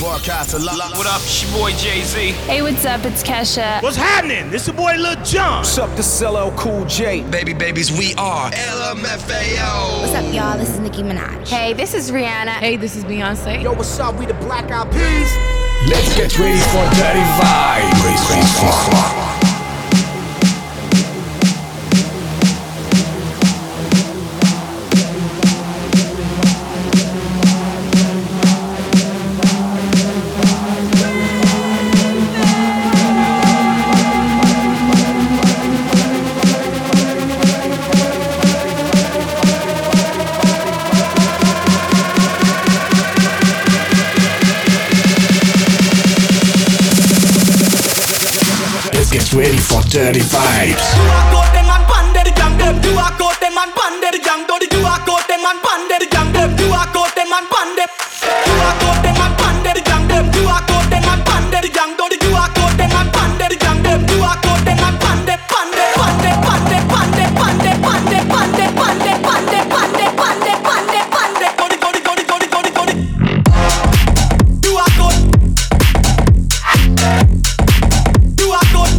Broadcast a lot. What up, it's your boy Jay-Z. Hey, what's up? It's Kesha. What's happening? This your boy Lil Jon. What's up, this is LL Cool J. Babies, we are LMFAO. What's up, y'all? This is Nicki Minaj. Hey, this is Rihanna. Hey, this is Beyonce. Yo, what's up? We the Black Eyed Peas. Let's get ready for Dirty Vibes. Get ready for Dirty Vibes. You are got them and panded young them. You are got them and panded young doddy. You are got them and panded young them. You are got them and panded. You are got them and panded young them. You are got them and panded young doddy. You are got them and panded young them. You are got them and panded, panded, panded, panded, panded, panded, panded, panded, panded, panded, panded, panded, panded, panded, doddy, doddy, doddy, doddy, doddy, doddy. You are good. You are good.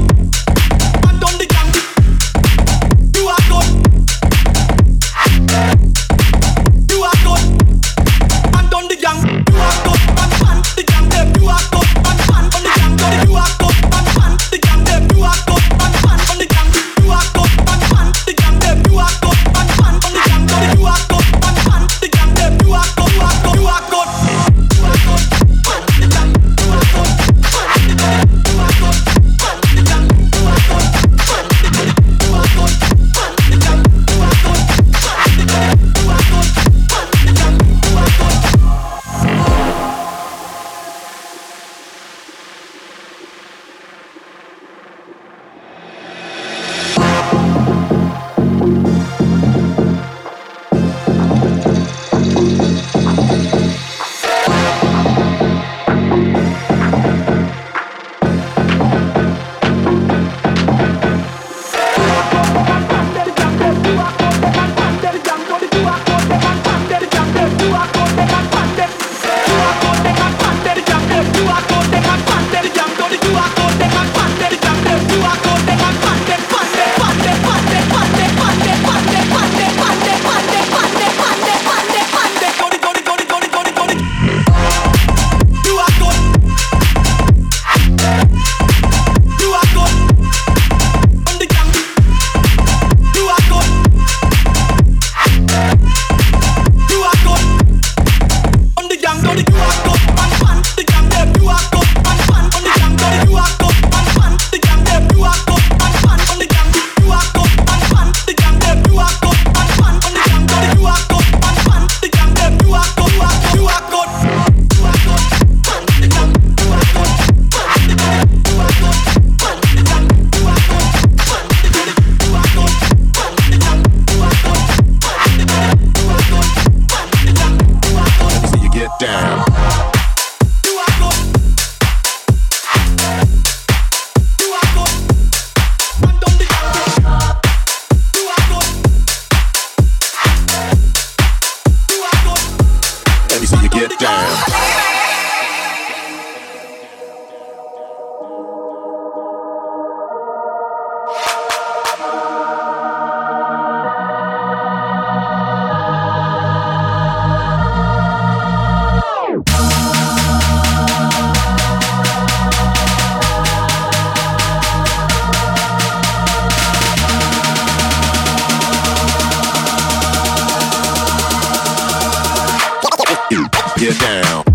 Get down.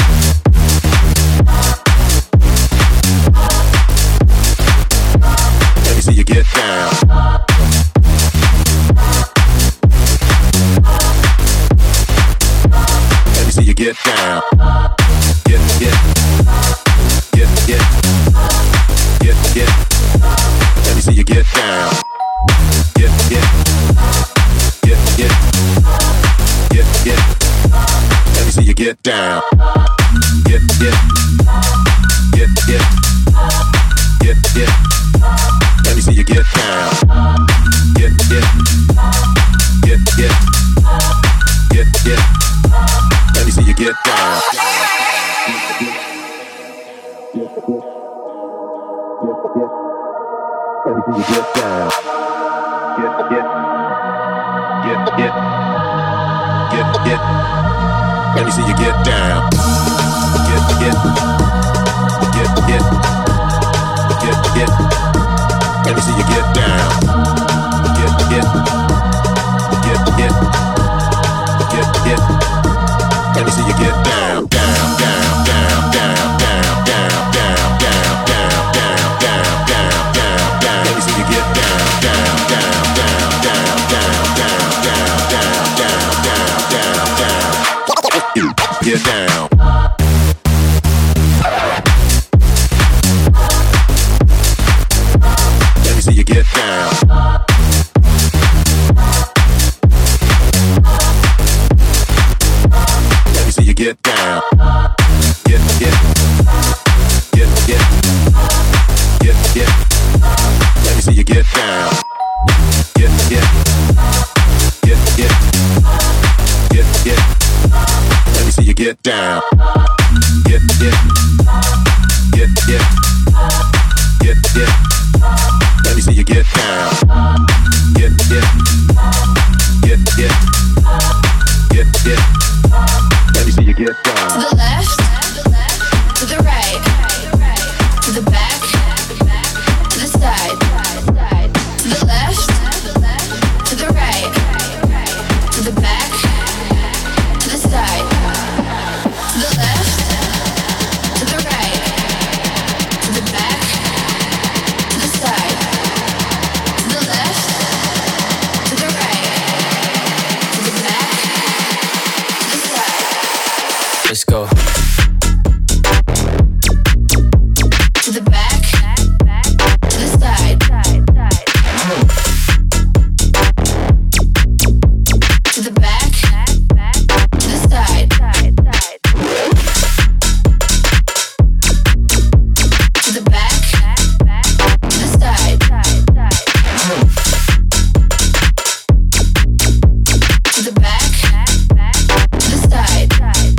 Let me see you get down. Let me see you get down. Get. Let me see you get down. Get. Let me see you get down. Get. Let me see you get down. Get. Let me see you get down. Let me see you get down. Let me see you get down. Let me see you get down, down, down, down, down, down, down, down, down, down, down, down, down, down, down. Let me see you get down, down, down, down, down, down, down, down, down, down, down, down, down. Get down. Let me see you get down. Let me see you get down. Get. Let me see you get down. Get. Let me see you get down. Get. Let me see you get down. Get. Let me see you get down. To the left, to the right, to the back, to the side. To the left, to the right, to the back, to the side. To the left, to the right, to the back, to the side. To the left, to the right, to the back, to the side. Let's go. To the back, to the side. To the back, to the side. To the back, to the side. To the back, to the side.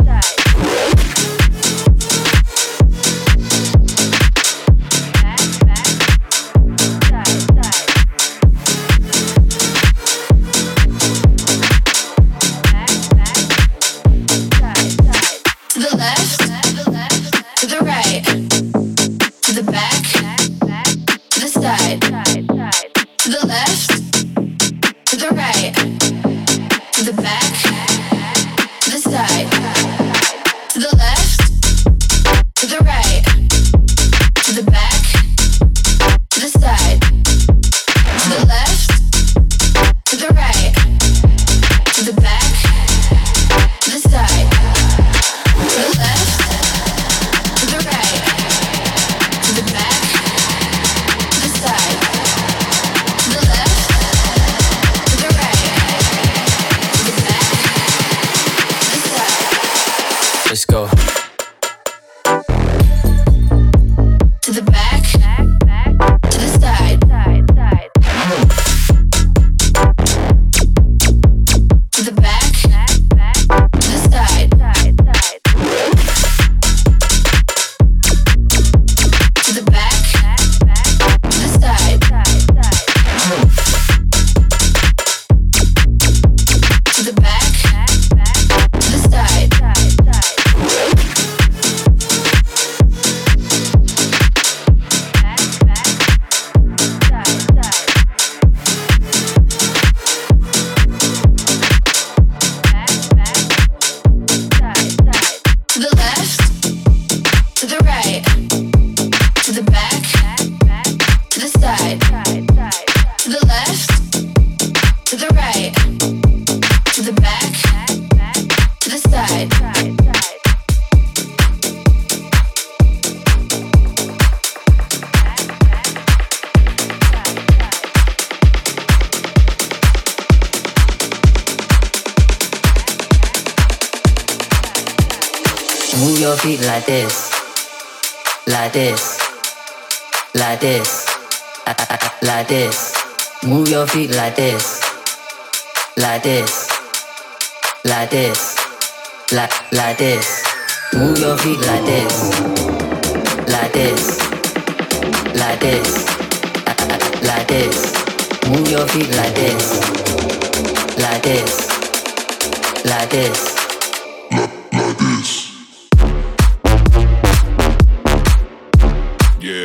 To the left, to the right, to the back, to the side. To the left, to the right, to the back, to the side. To the left, to the right, to the back, to the side. To the left, to the right, to the back, to the side. To the left, to the right, to the back, to the side. To the left, to the right, to the back, to the side. Let's go. To the back, to the side. To the back, to the side. To the back, to the side. To the back, to the side. To the left, to the right, to the back, to the side. To the left, to the right, to the back, to the side. Move your feet like this, like this, like this, like this. Move your feet like this, like this, like this, like this. Move your feet like this, like this, like this, like this. Move your feet like this, like this, like this, like this. Yeah.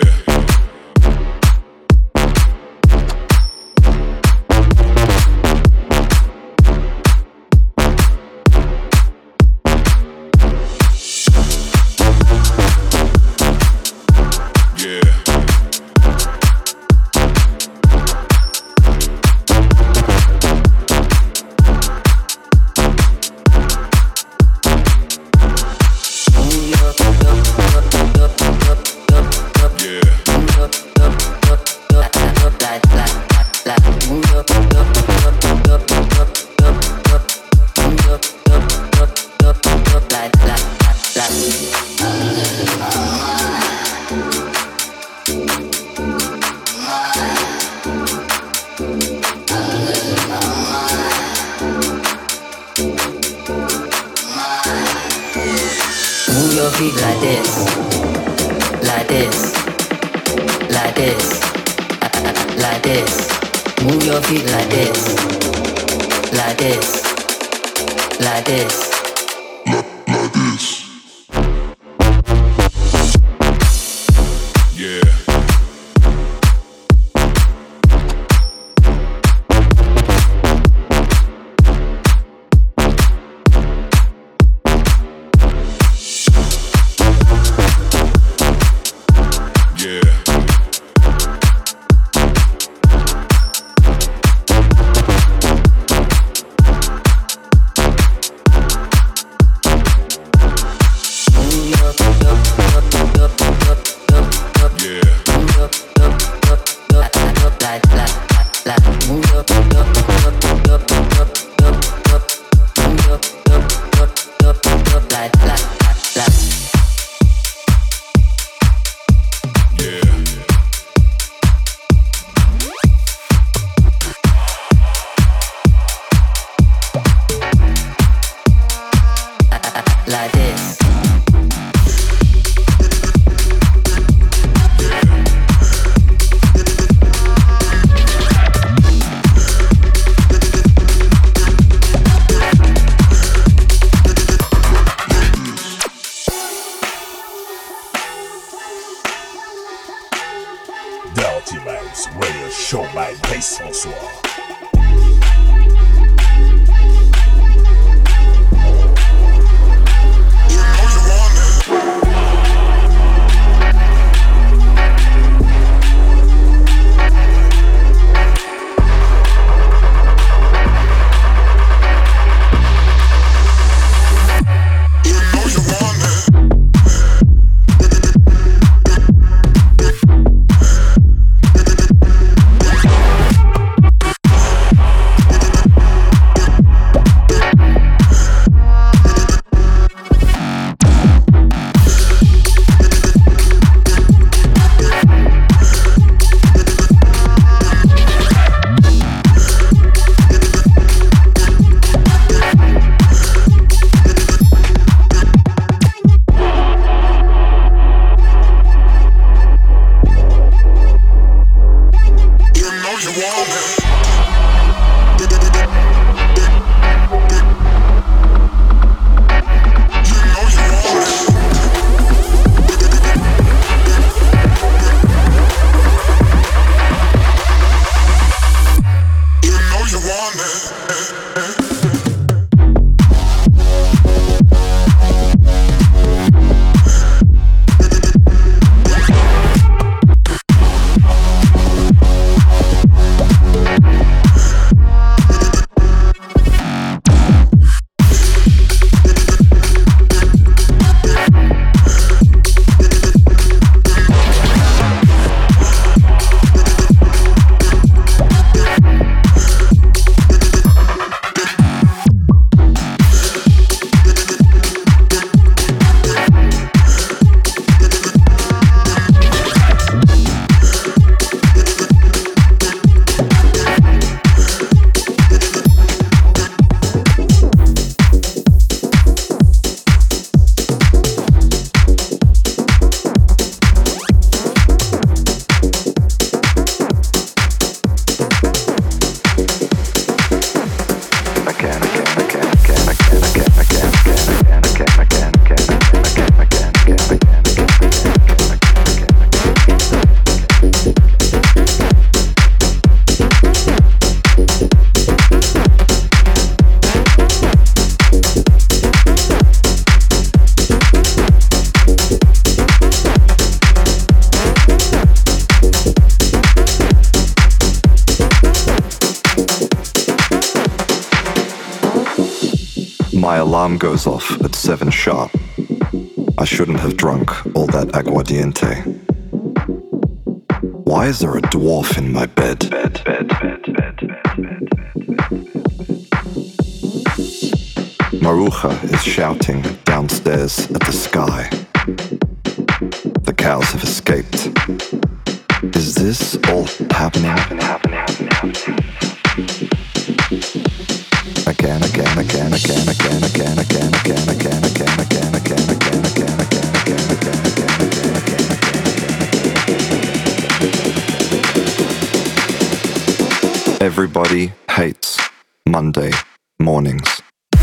alarm goes off at 7 sharp. I shouldn't have drunk all that aguardiente. Why is there a dwarf in my bed? Maruja is shouting downstairs at the sky. The cows have escaped. Is this all happening? Everybody hates Monday mornings.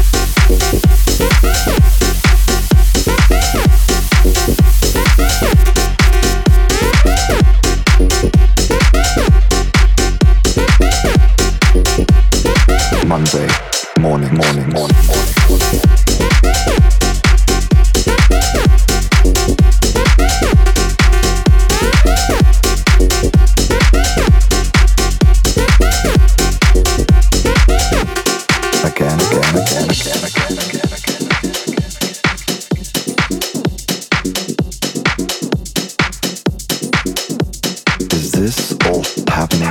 Monday morning. Is this all happening?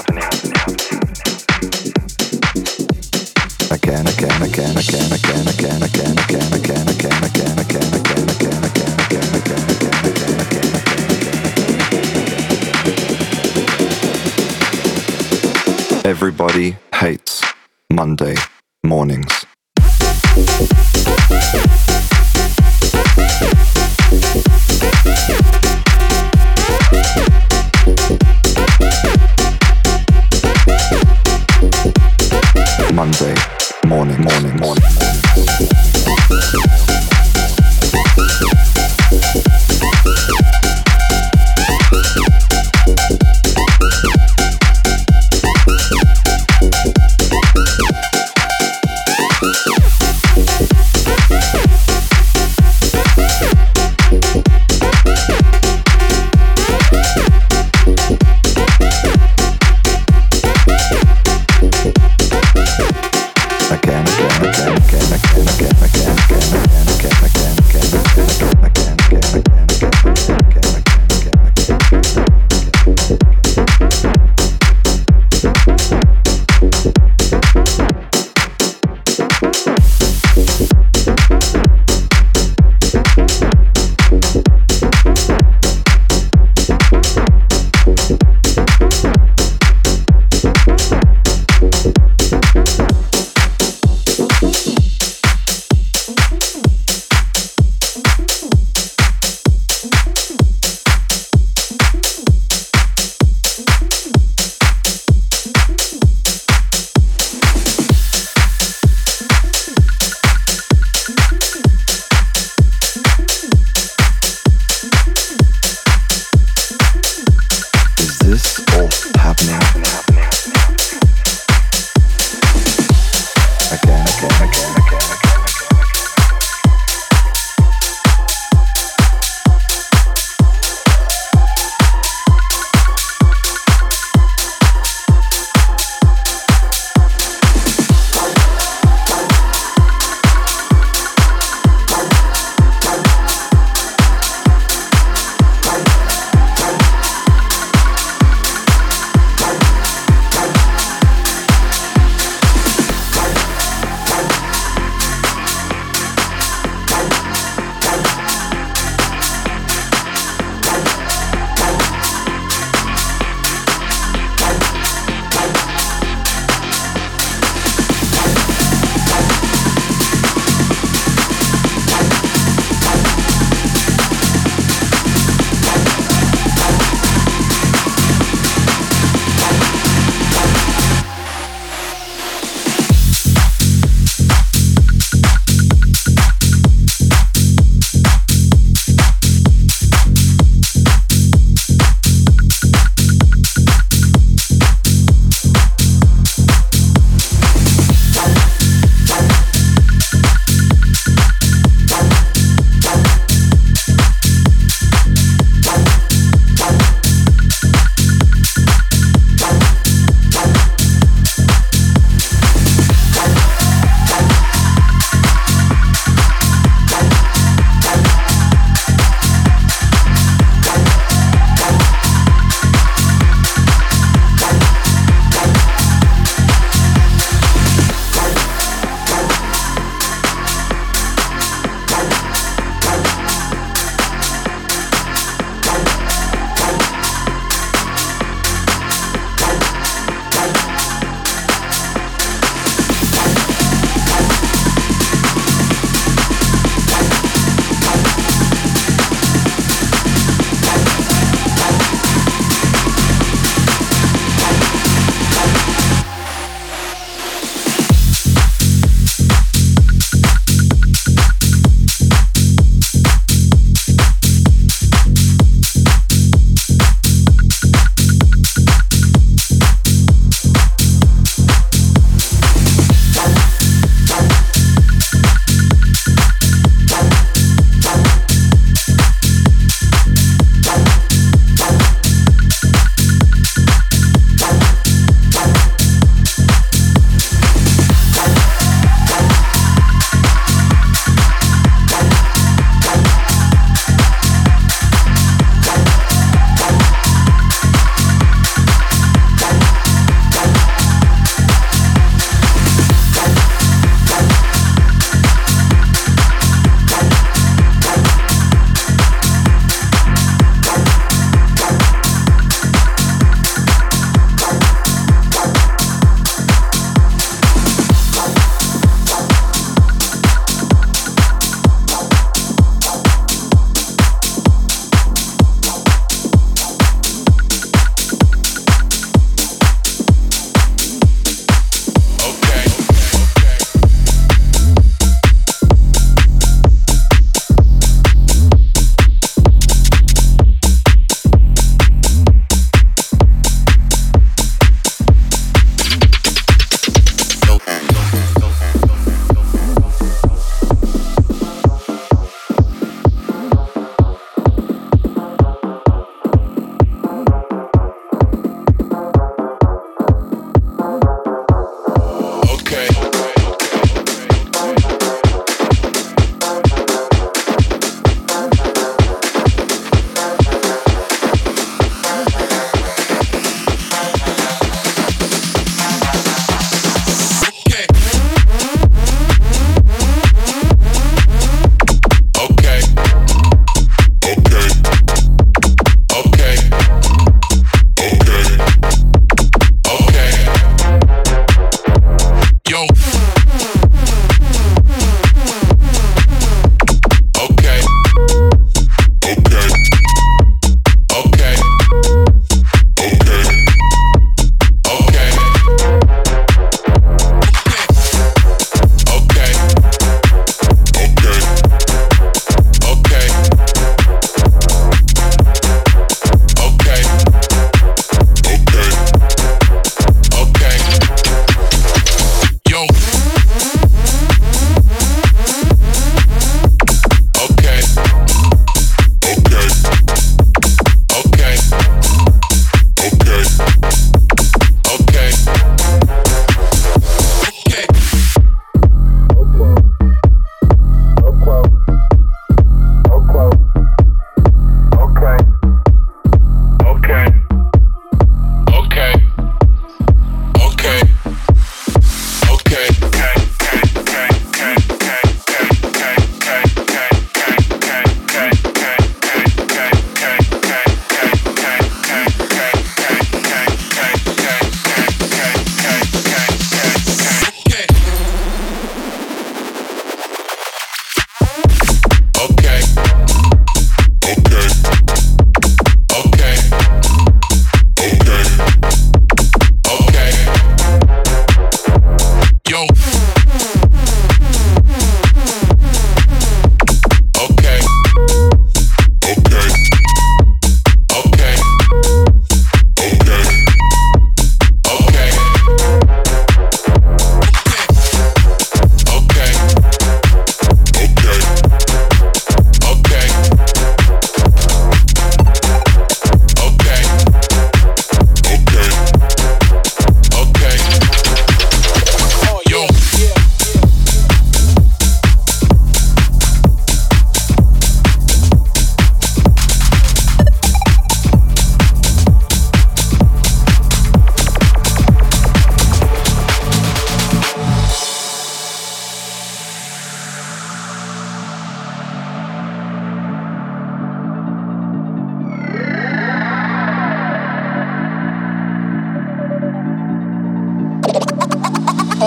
Everybody hates Monday mornings. Monday morning.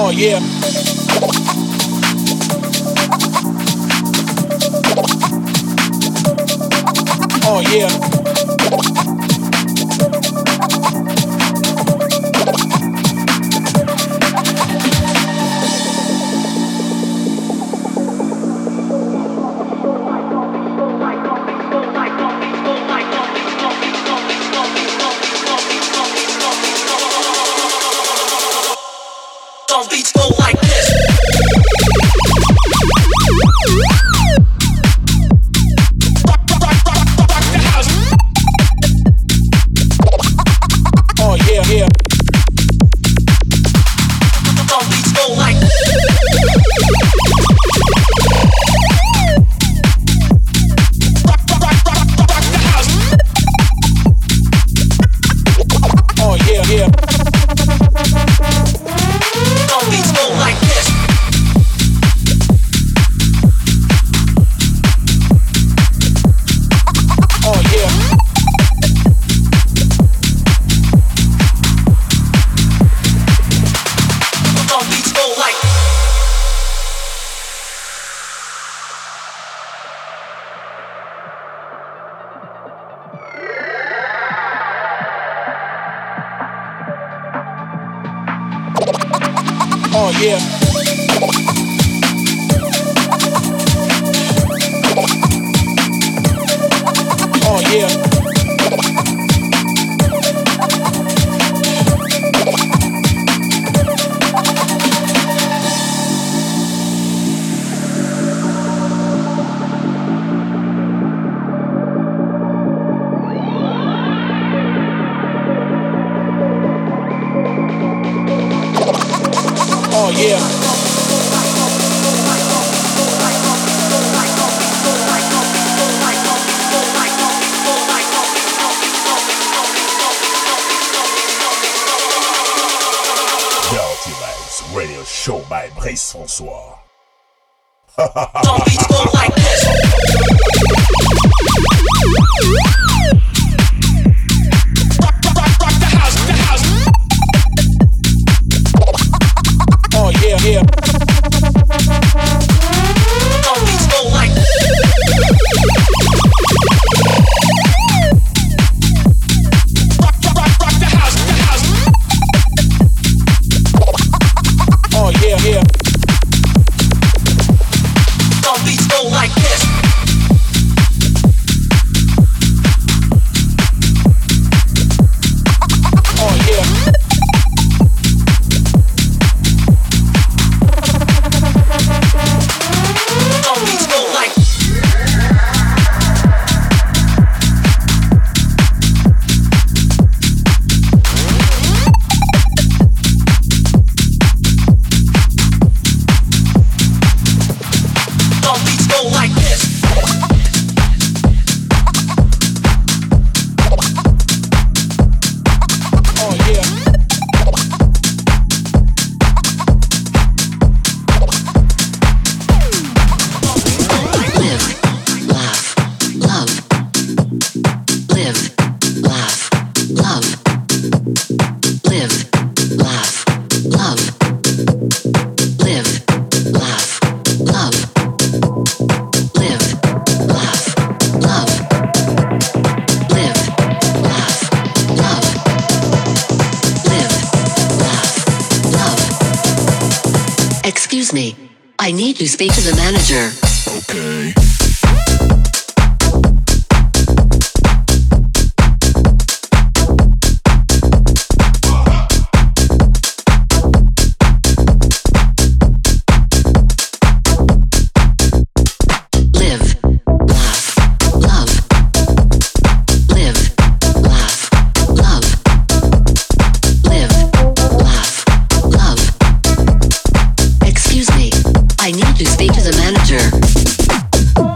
Oh yeah. Oh yeah. Some beats go like this. Oh yeah, yeah. Some beats go like Oh yeah, yeah. some beats go like this. Oh yeah. Some beats go like Oh yeah. Oh yeah. Oh yeah. Dirty Vibes Radio Show by Brice François. Some beats go like this. Rock the house, the house. Oh yeah, yeah. Some beats go like rock the house, the house. Oh yeah, yeah. Some beats go like this. Oh yeah. Some beats go like some beats go like this. Oh yeah. Live, laugh, love. Live, laugh, love. Live, laugh, love. Live, laugh, love. Live, laugh, love. Live, laugh, love. Live, laugh, love. Excuse me, I need to speak to the manager. Okay. Live, laugh, love. Live, laugh, love. Live, laugh, love. Excuse me, I need to speak to the manager.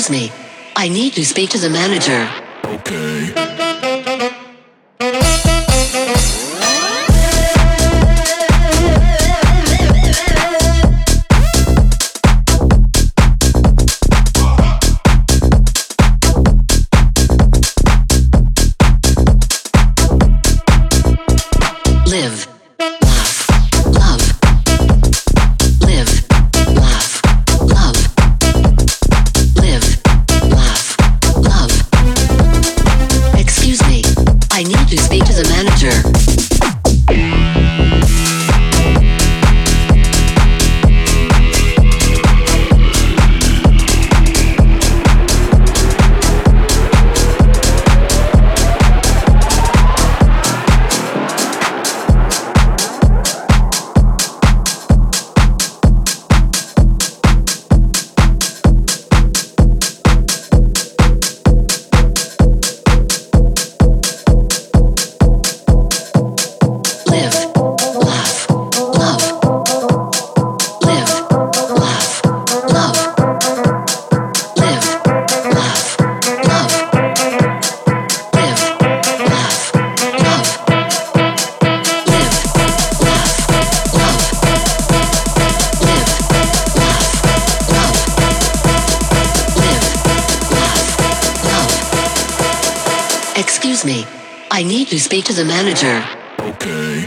Excuse me. I need to speak to the manager. Okay. Live, laugh, love. Live, laugh, love. Live, laugh, love. Excuse me, I need to speak to the manager. Excuse me, I need to speak to the manager. Okay.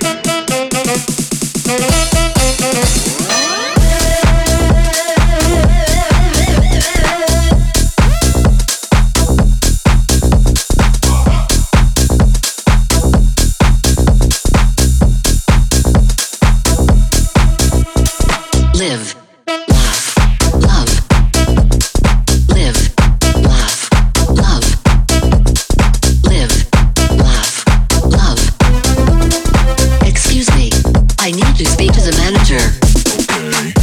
Live, laugh, love. Live, laugh, love. Live, laugh, love. Excuse me, I need to speak to the manager. Okay.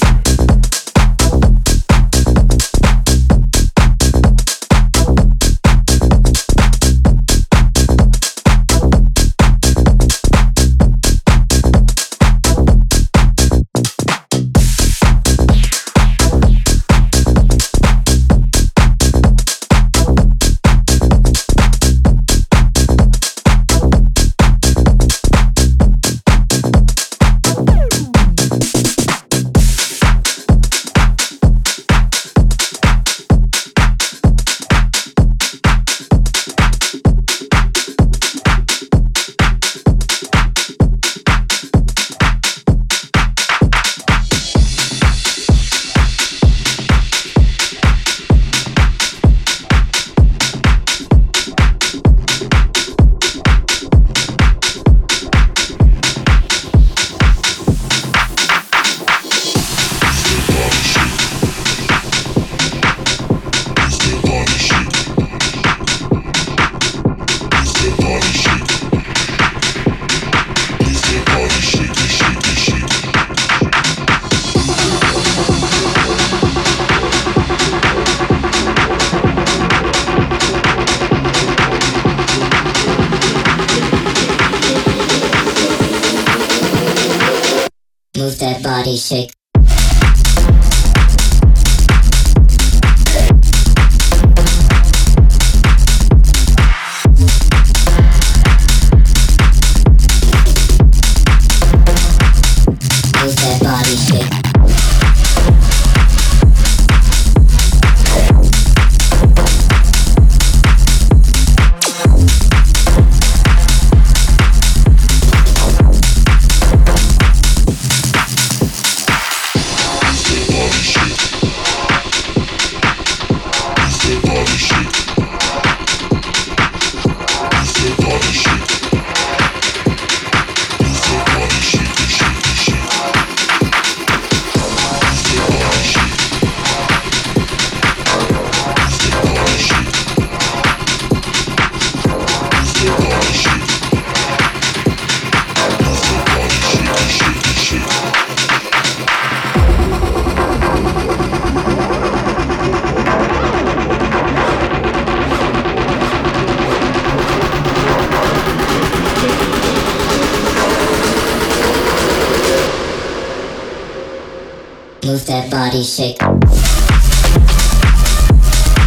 Move that body, shake. Move that body, shake. Move that body, shake.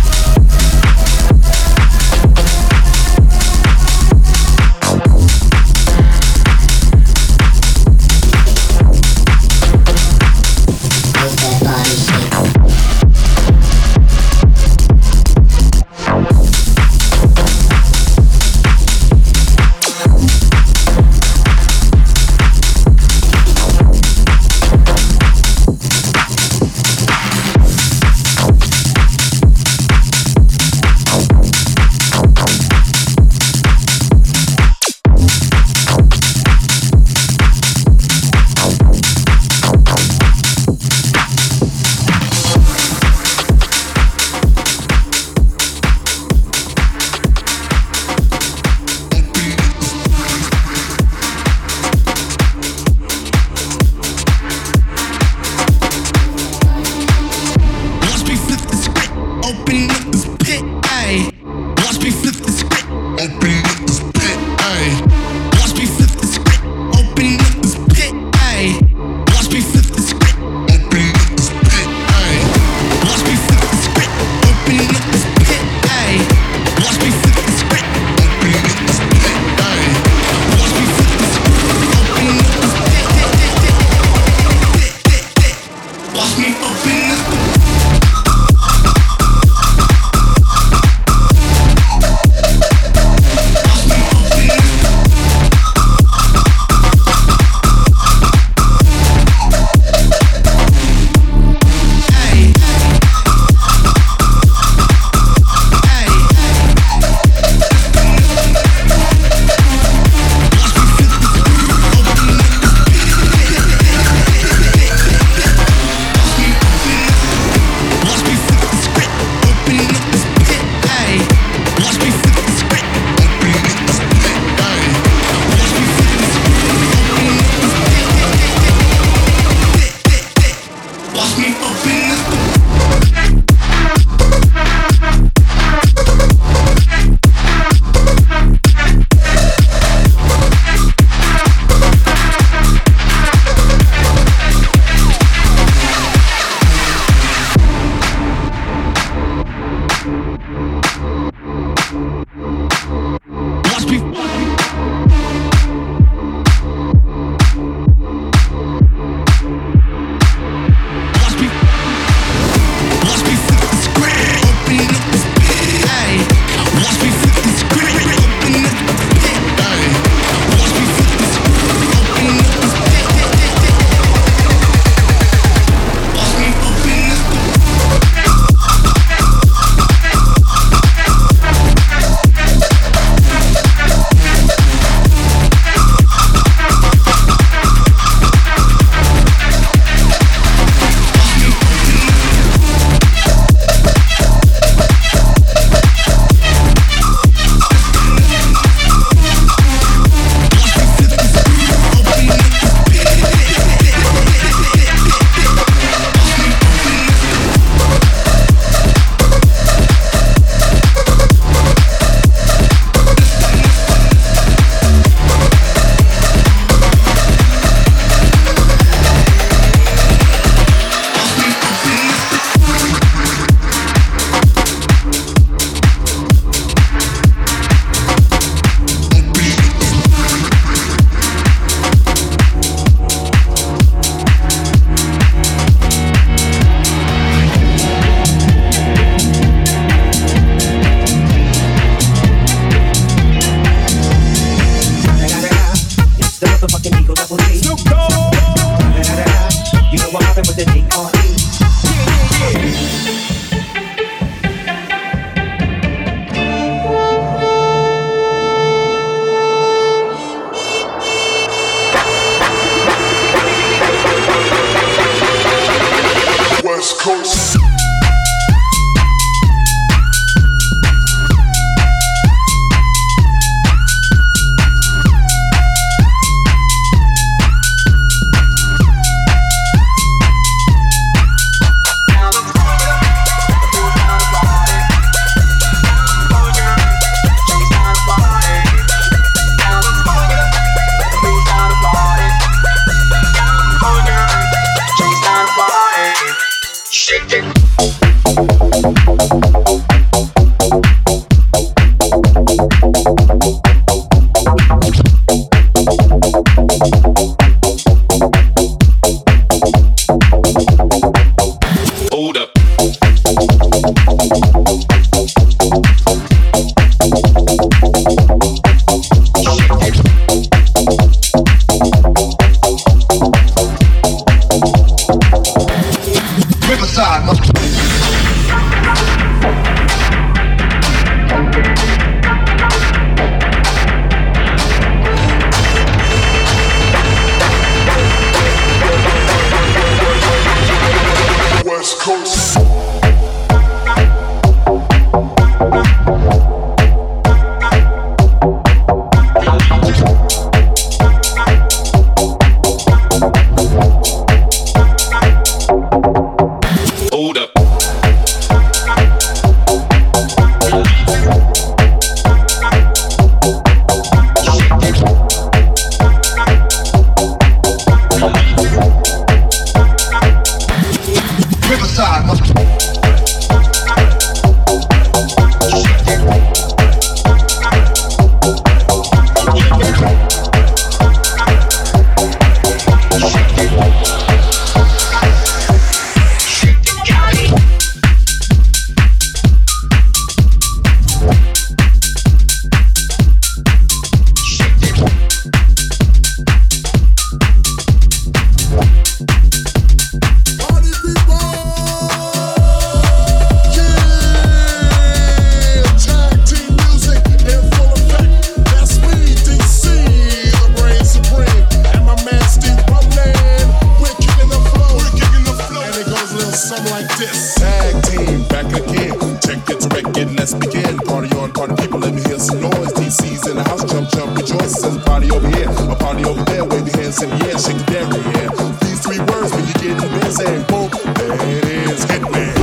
jump, rejoice. There's a party over here, a party over there. Wave your hands in the air, shake the damn yeah. These three words when you get in bed, saying boom, there it is, Hitman.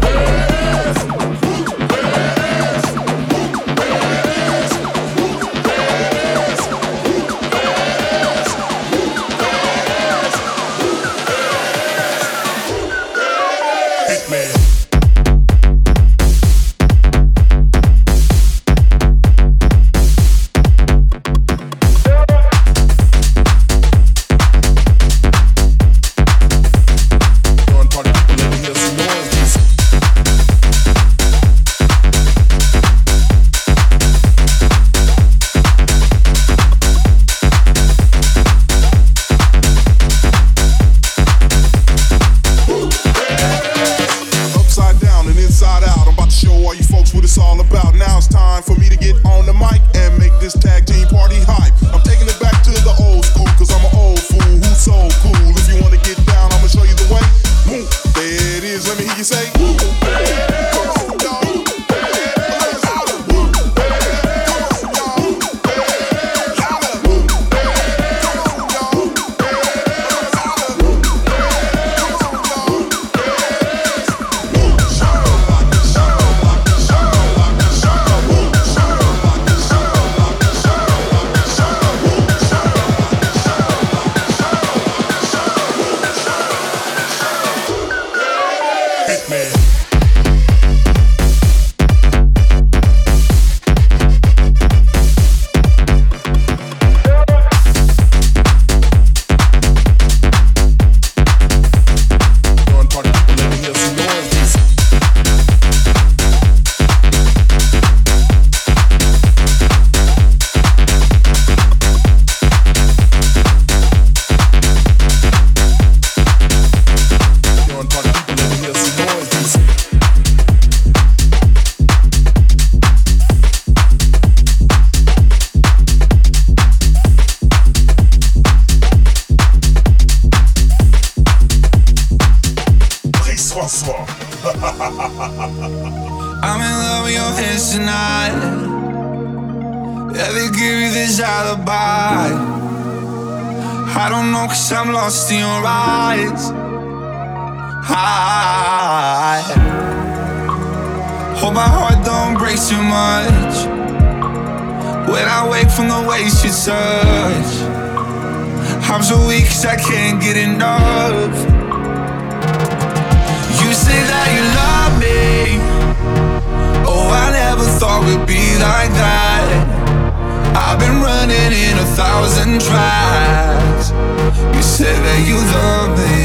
I'm in love with your hands tonight. Yeah, they give you this alibi. I don't know, 'cause I'm lost in your eyes. I hope my heart don't break too much when I wake from the ways you touch. I'm so weak 'cause I can't get enough. You say that you love me. Oh, I never thought we'd be like that. I've been running in 1,000 tracks. You said that you love me.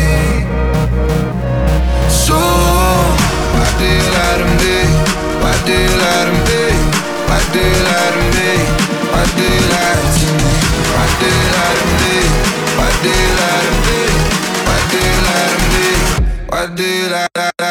So why do you lie to me? Why do you lie to me? Why do you lie to me? Why do you lie to me? Why do you lie to me? Why do you lie to me? Why do you lie to me? Why do you lie to me?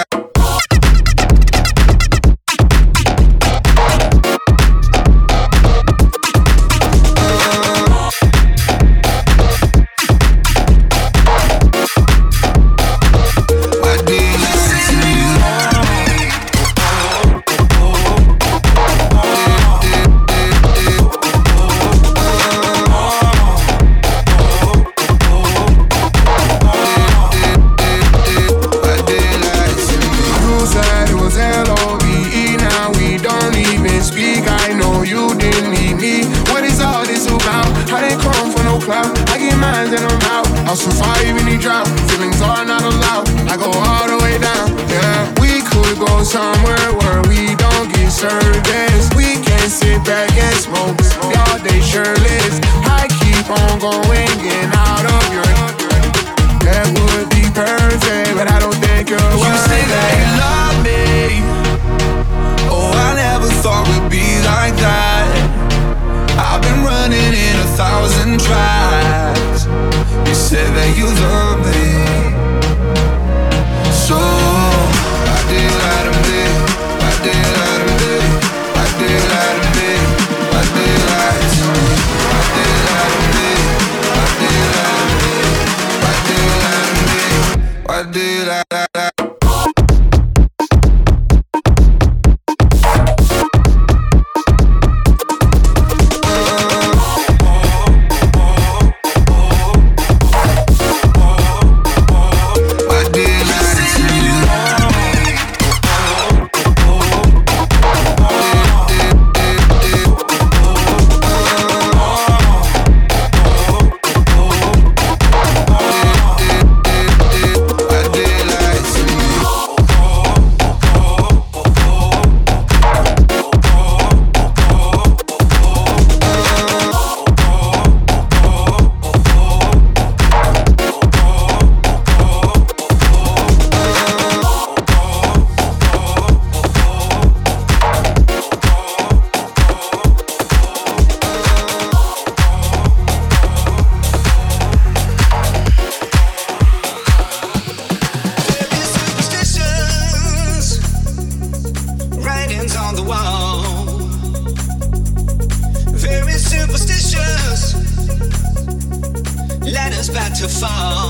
I'll survive any drought. Feelings are not allowed. I go all the way down. Yeah, we could go somewhere where we don't get service. We can sit back and smoke all day shirtless. I keep on going, getting out of your. That would be perfect, but I don't think you're worth it. You say that you love me. Oh, I never thought we'd be like that. I've been running in 1,000 tracks. You said that you love me. So why do you lie to me? Why do you lie to me? Why do you lie to me? Why do you lie to me? Why do you lie to me? Why do you lie to me? Why do you lie to me? Why do you lie to me? to fall.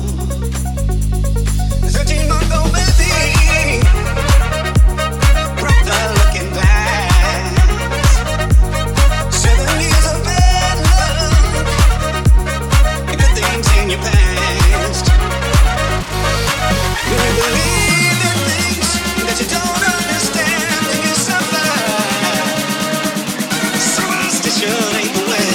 13-month-old baby broke the looking glass. 7 years of bad luck, good things in your past. Do you believe in things that you don't understand and you suffer? Superstition ain't the way.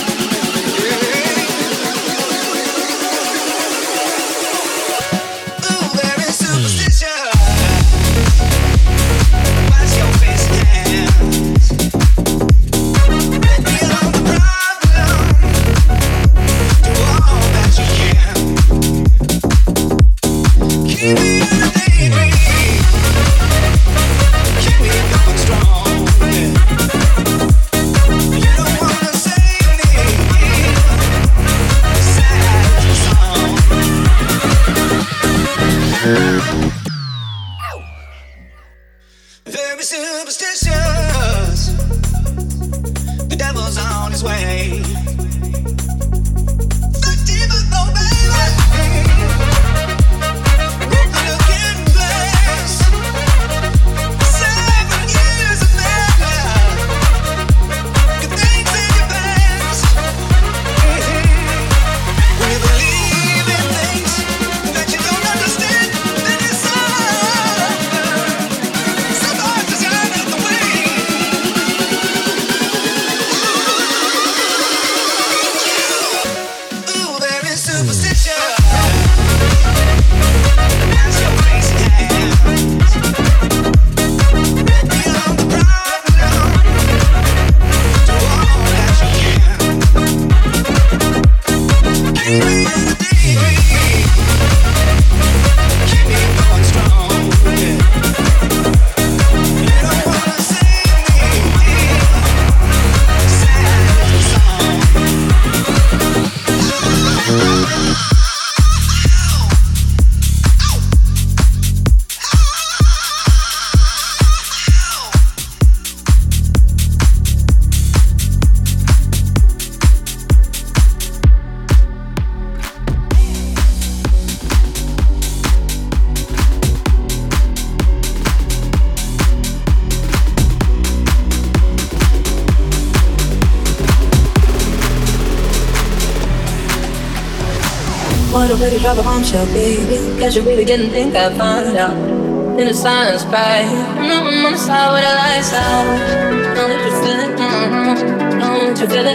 Very superstitious. The devil's on his way. 13-month-old baby broke the looking glass. 7 years of bad luck, good things in your past. When you believe in things that you don't understand, then you suffer. Somebody's out of the way. Ooh, there is superstition. That's your crazy hands. Beyond the problem, do all that you can. Keep me in the daydream. Keep me going strong, yeah. You don't wanna save me. Sad song. What a way to drop a bombshell, baby. Guess you really didn't think I'd find out. In the silence, babe. I'm on the side with the lights out. Know that you feel it, know that you feel it,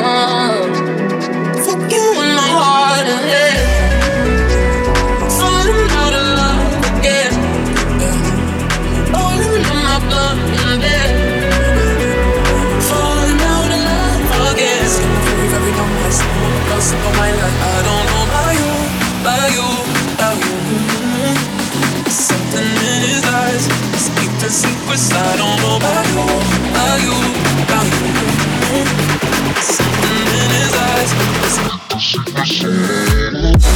Fuck you in my heart and head. Falling out of love again. Falling in my blood in bed. Falling out of love again. Very nice. Close to my life. I don't know about you. Something in his eyes speak the secrets I don't know about you. Something in his eyes speak the secrets.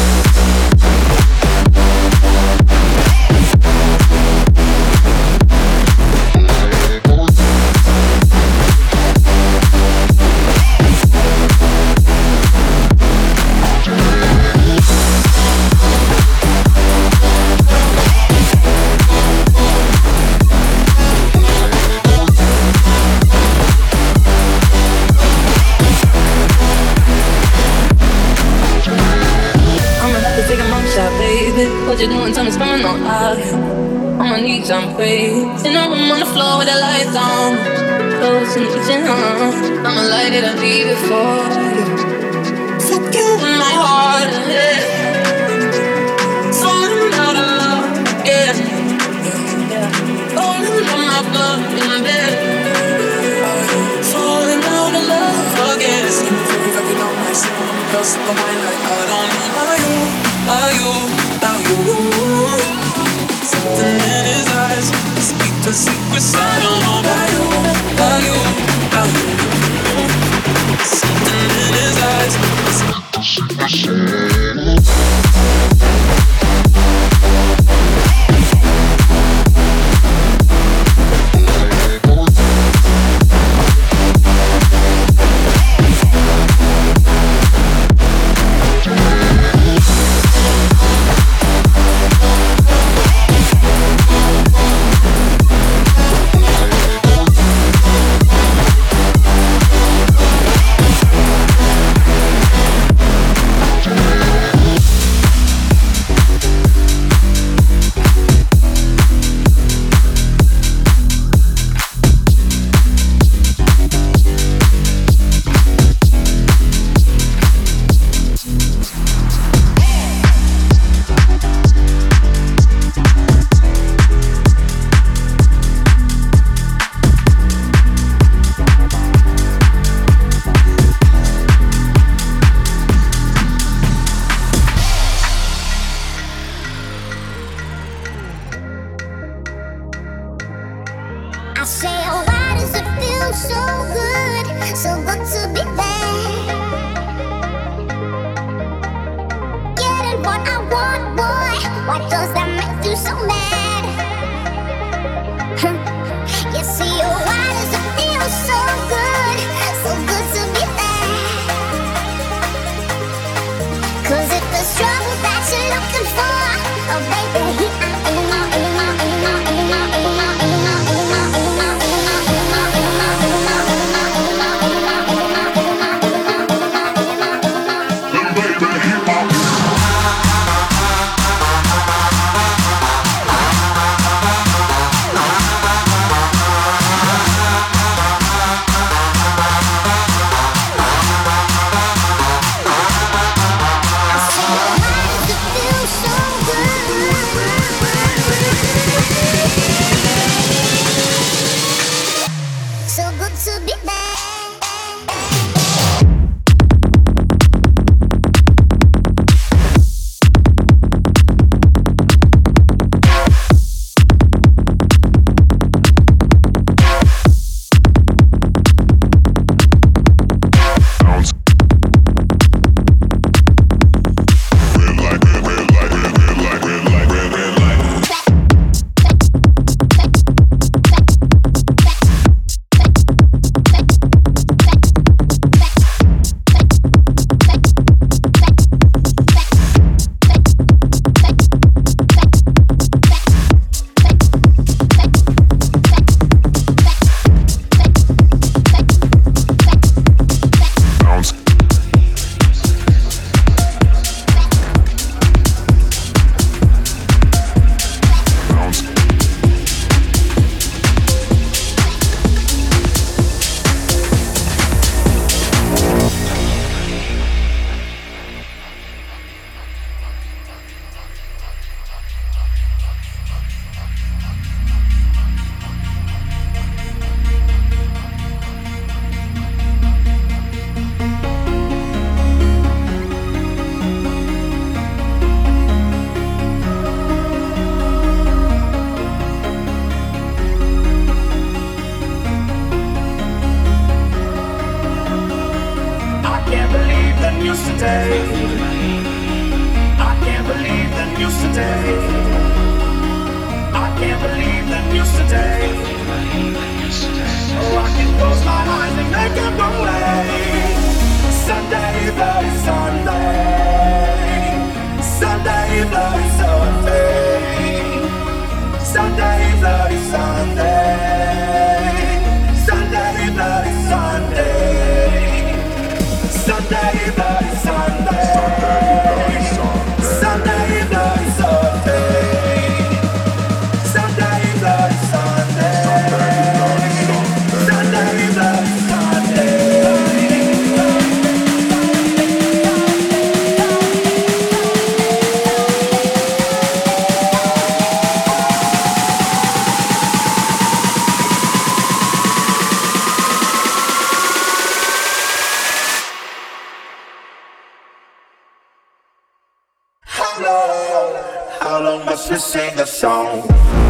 What you doing? Tell me what's going on out here. On my knees, I'm praying. In a room on the floor with the lights on. Close in the kitchen, I'ma light it and leave it for you. Fuck you in my heart and head. Falling out of love, yeah. Falling in my blood in bed. Falling out of love again. It's very nice. Close to my life. I don't know about you. Something in his eyes speak the secrets I don't know about you. Something in his eyes speak the secrets. news today. I can't believe the news today. I can't believe the news today. Oh, I can close my eyes and make them go away. Sunday, bloody Sunday. Sunday, bloody Sunday. Sunday, bloody Sunday. Sunday, bloody Sunday. Sunday, bloody Sunday. Sunday, bloody Sunday. Sunday, bloody Sunday. Sunday, bloody Sunday. How long must we sing a song?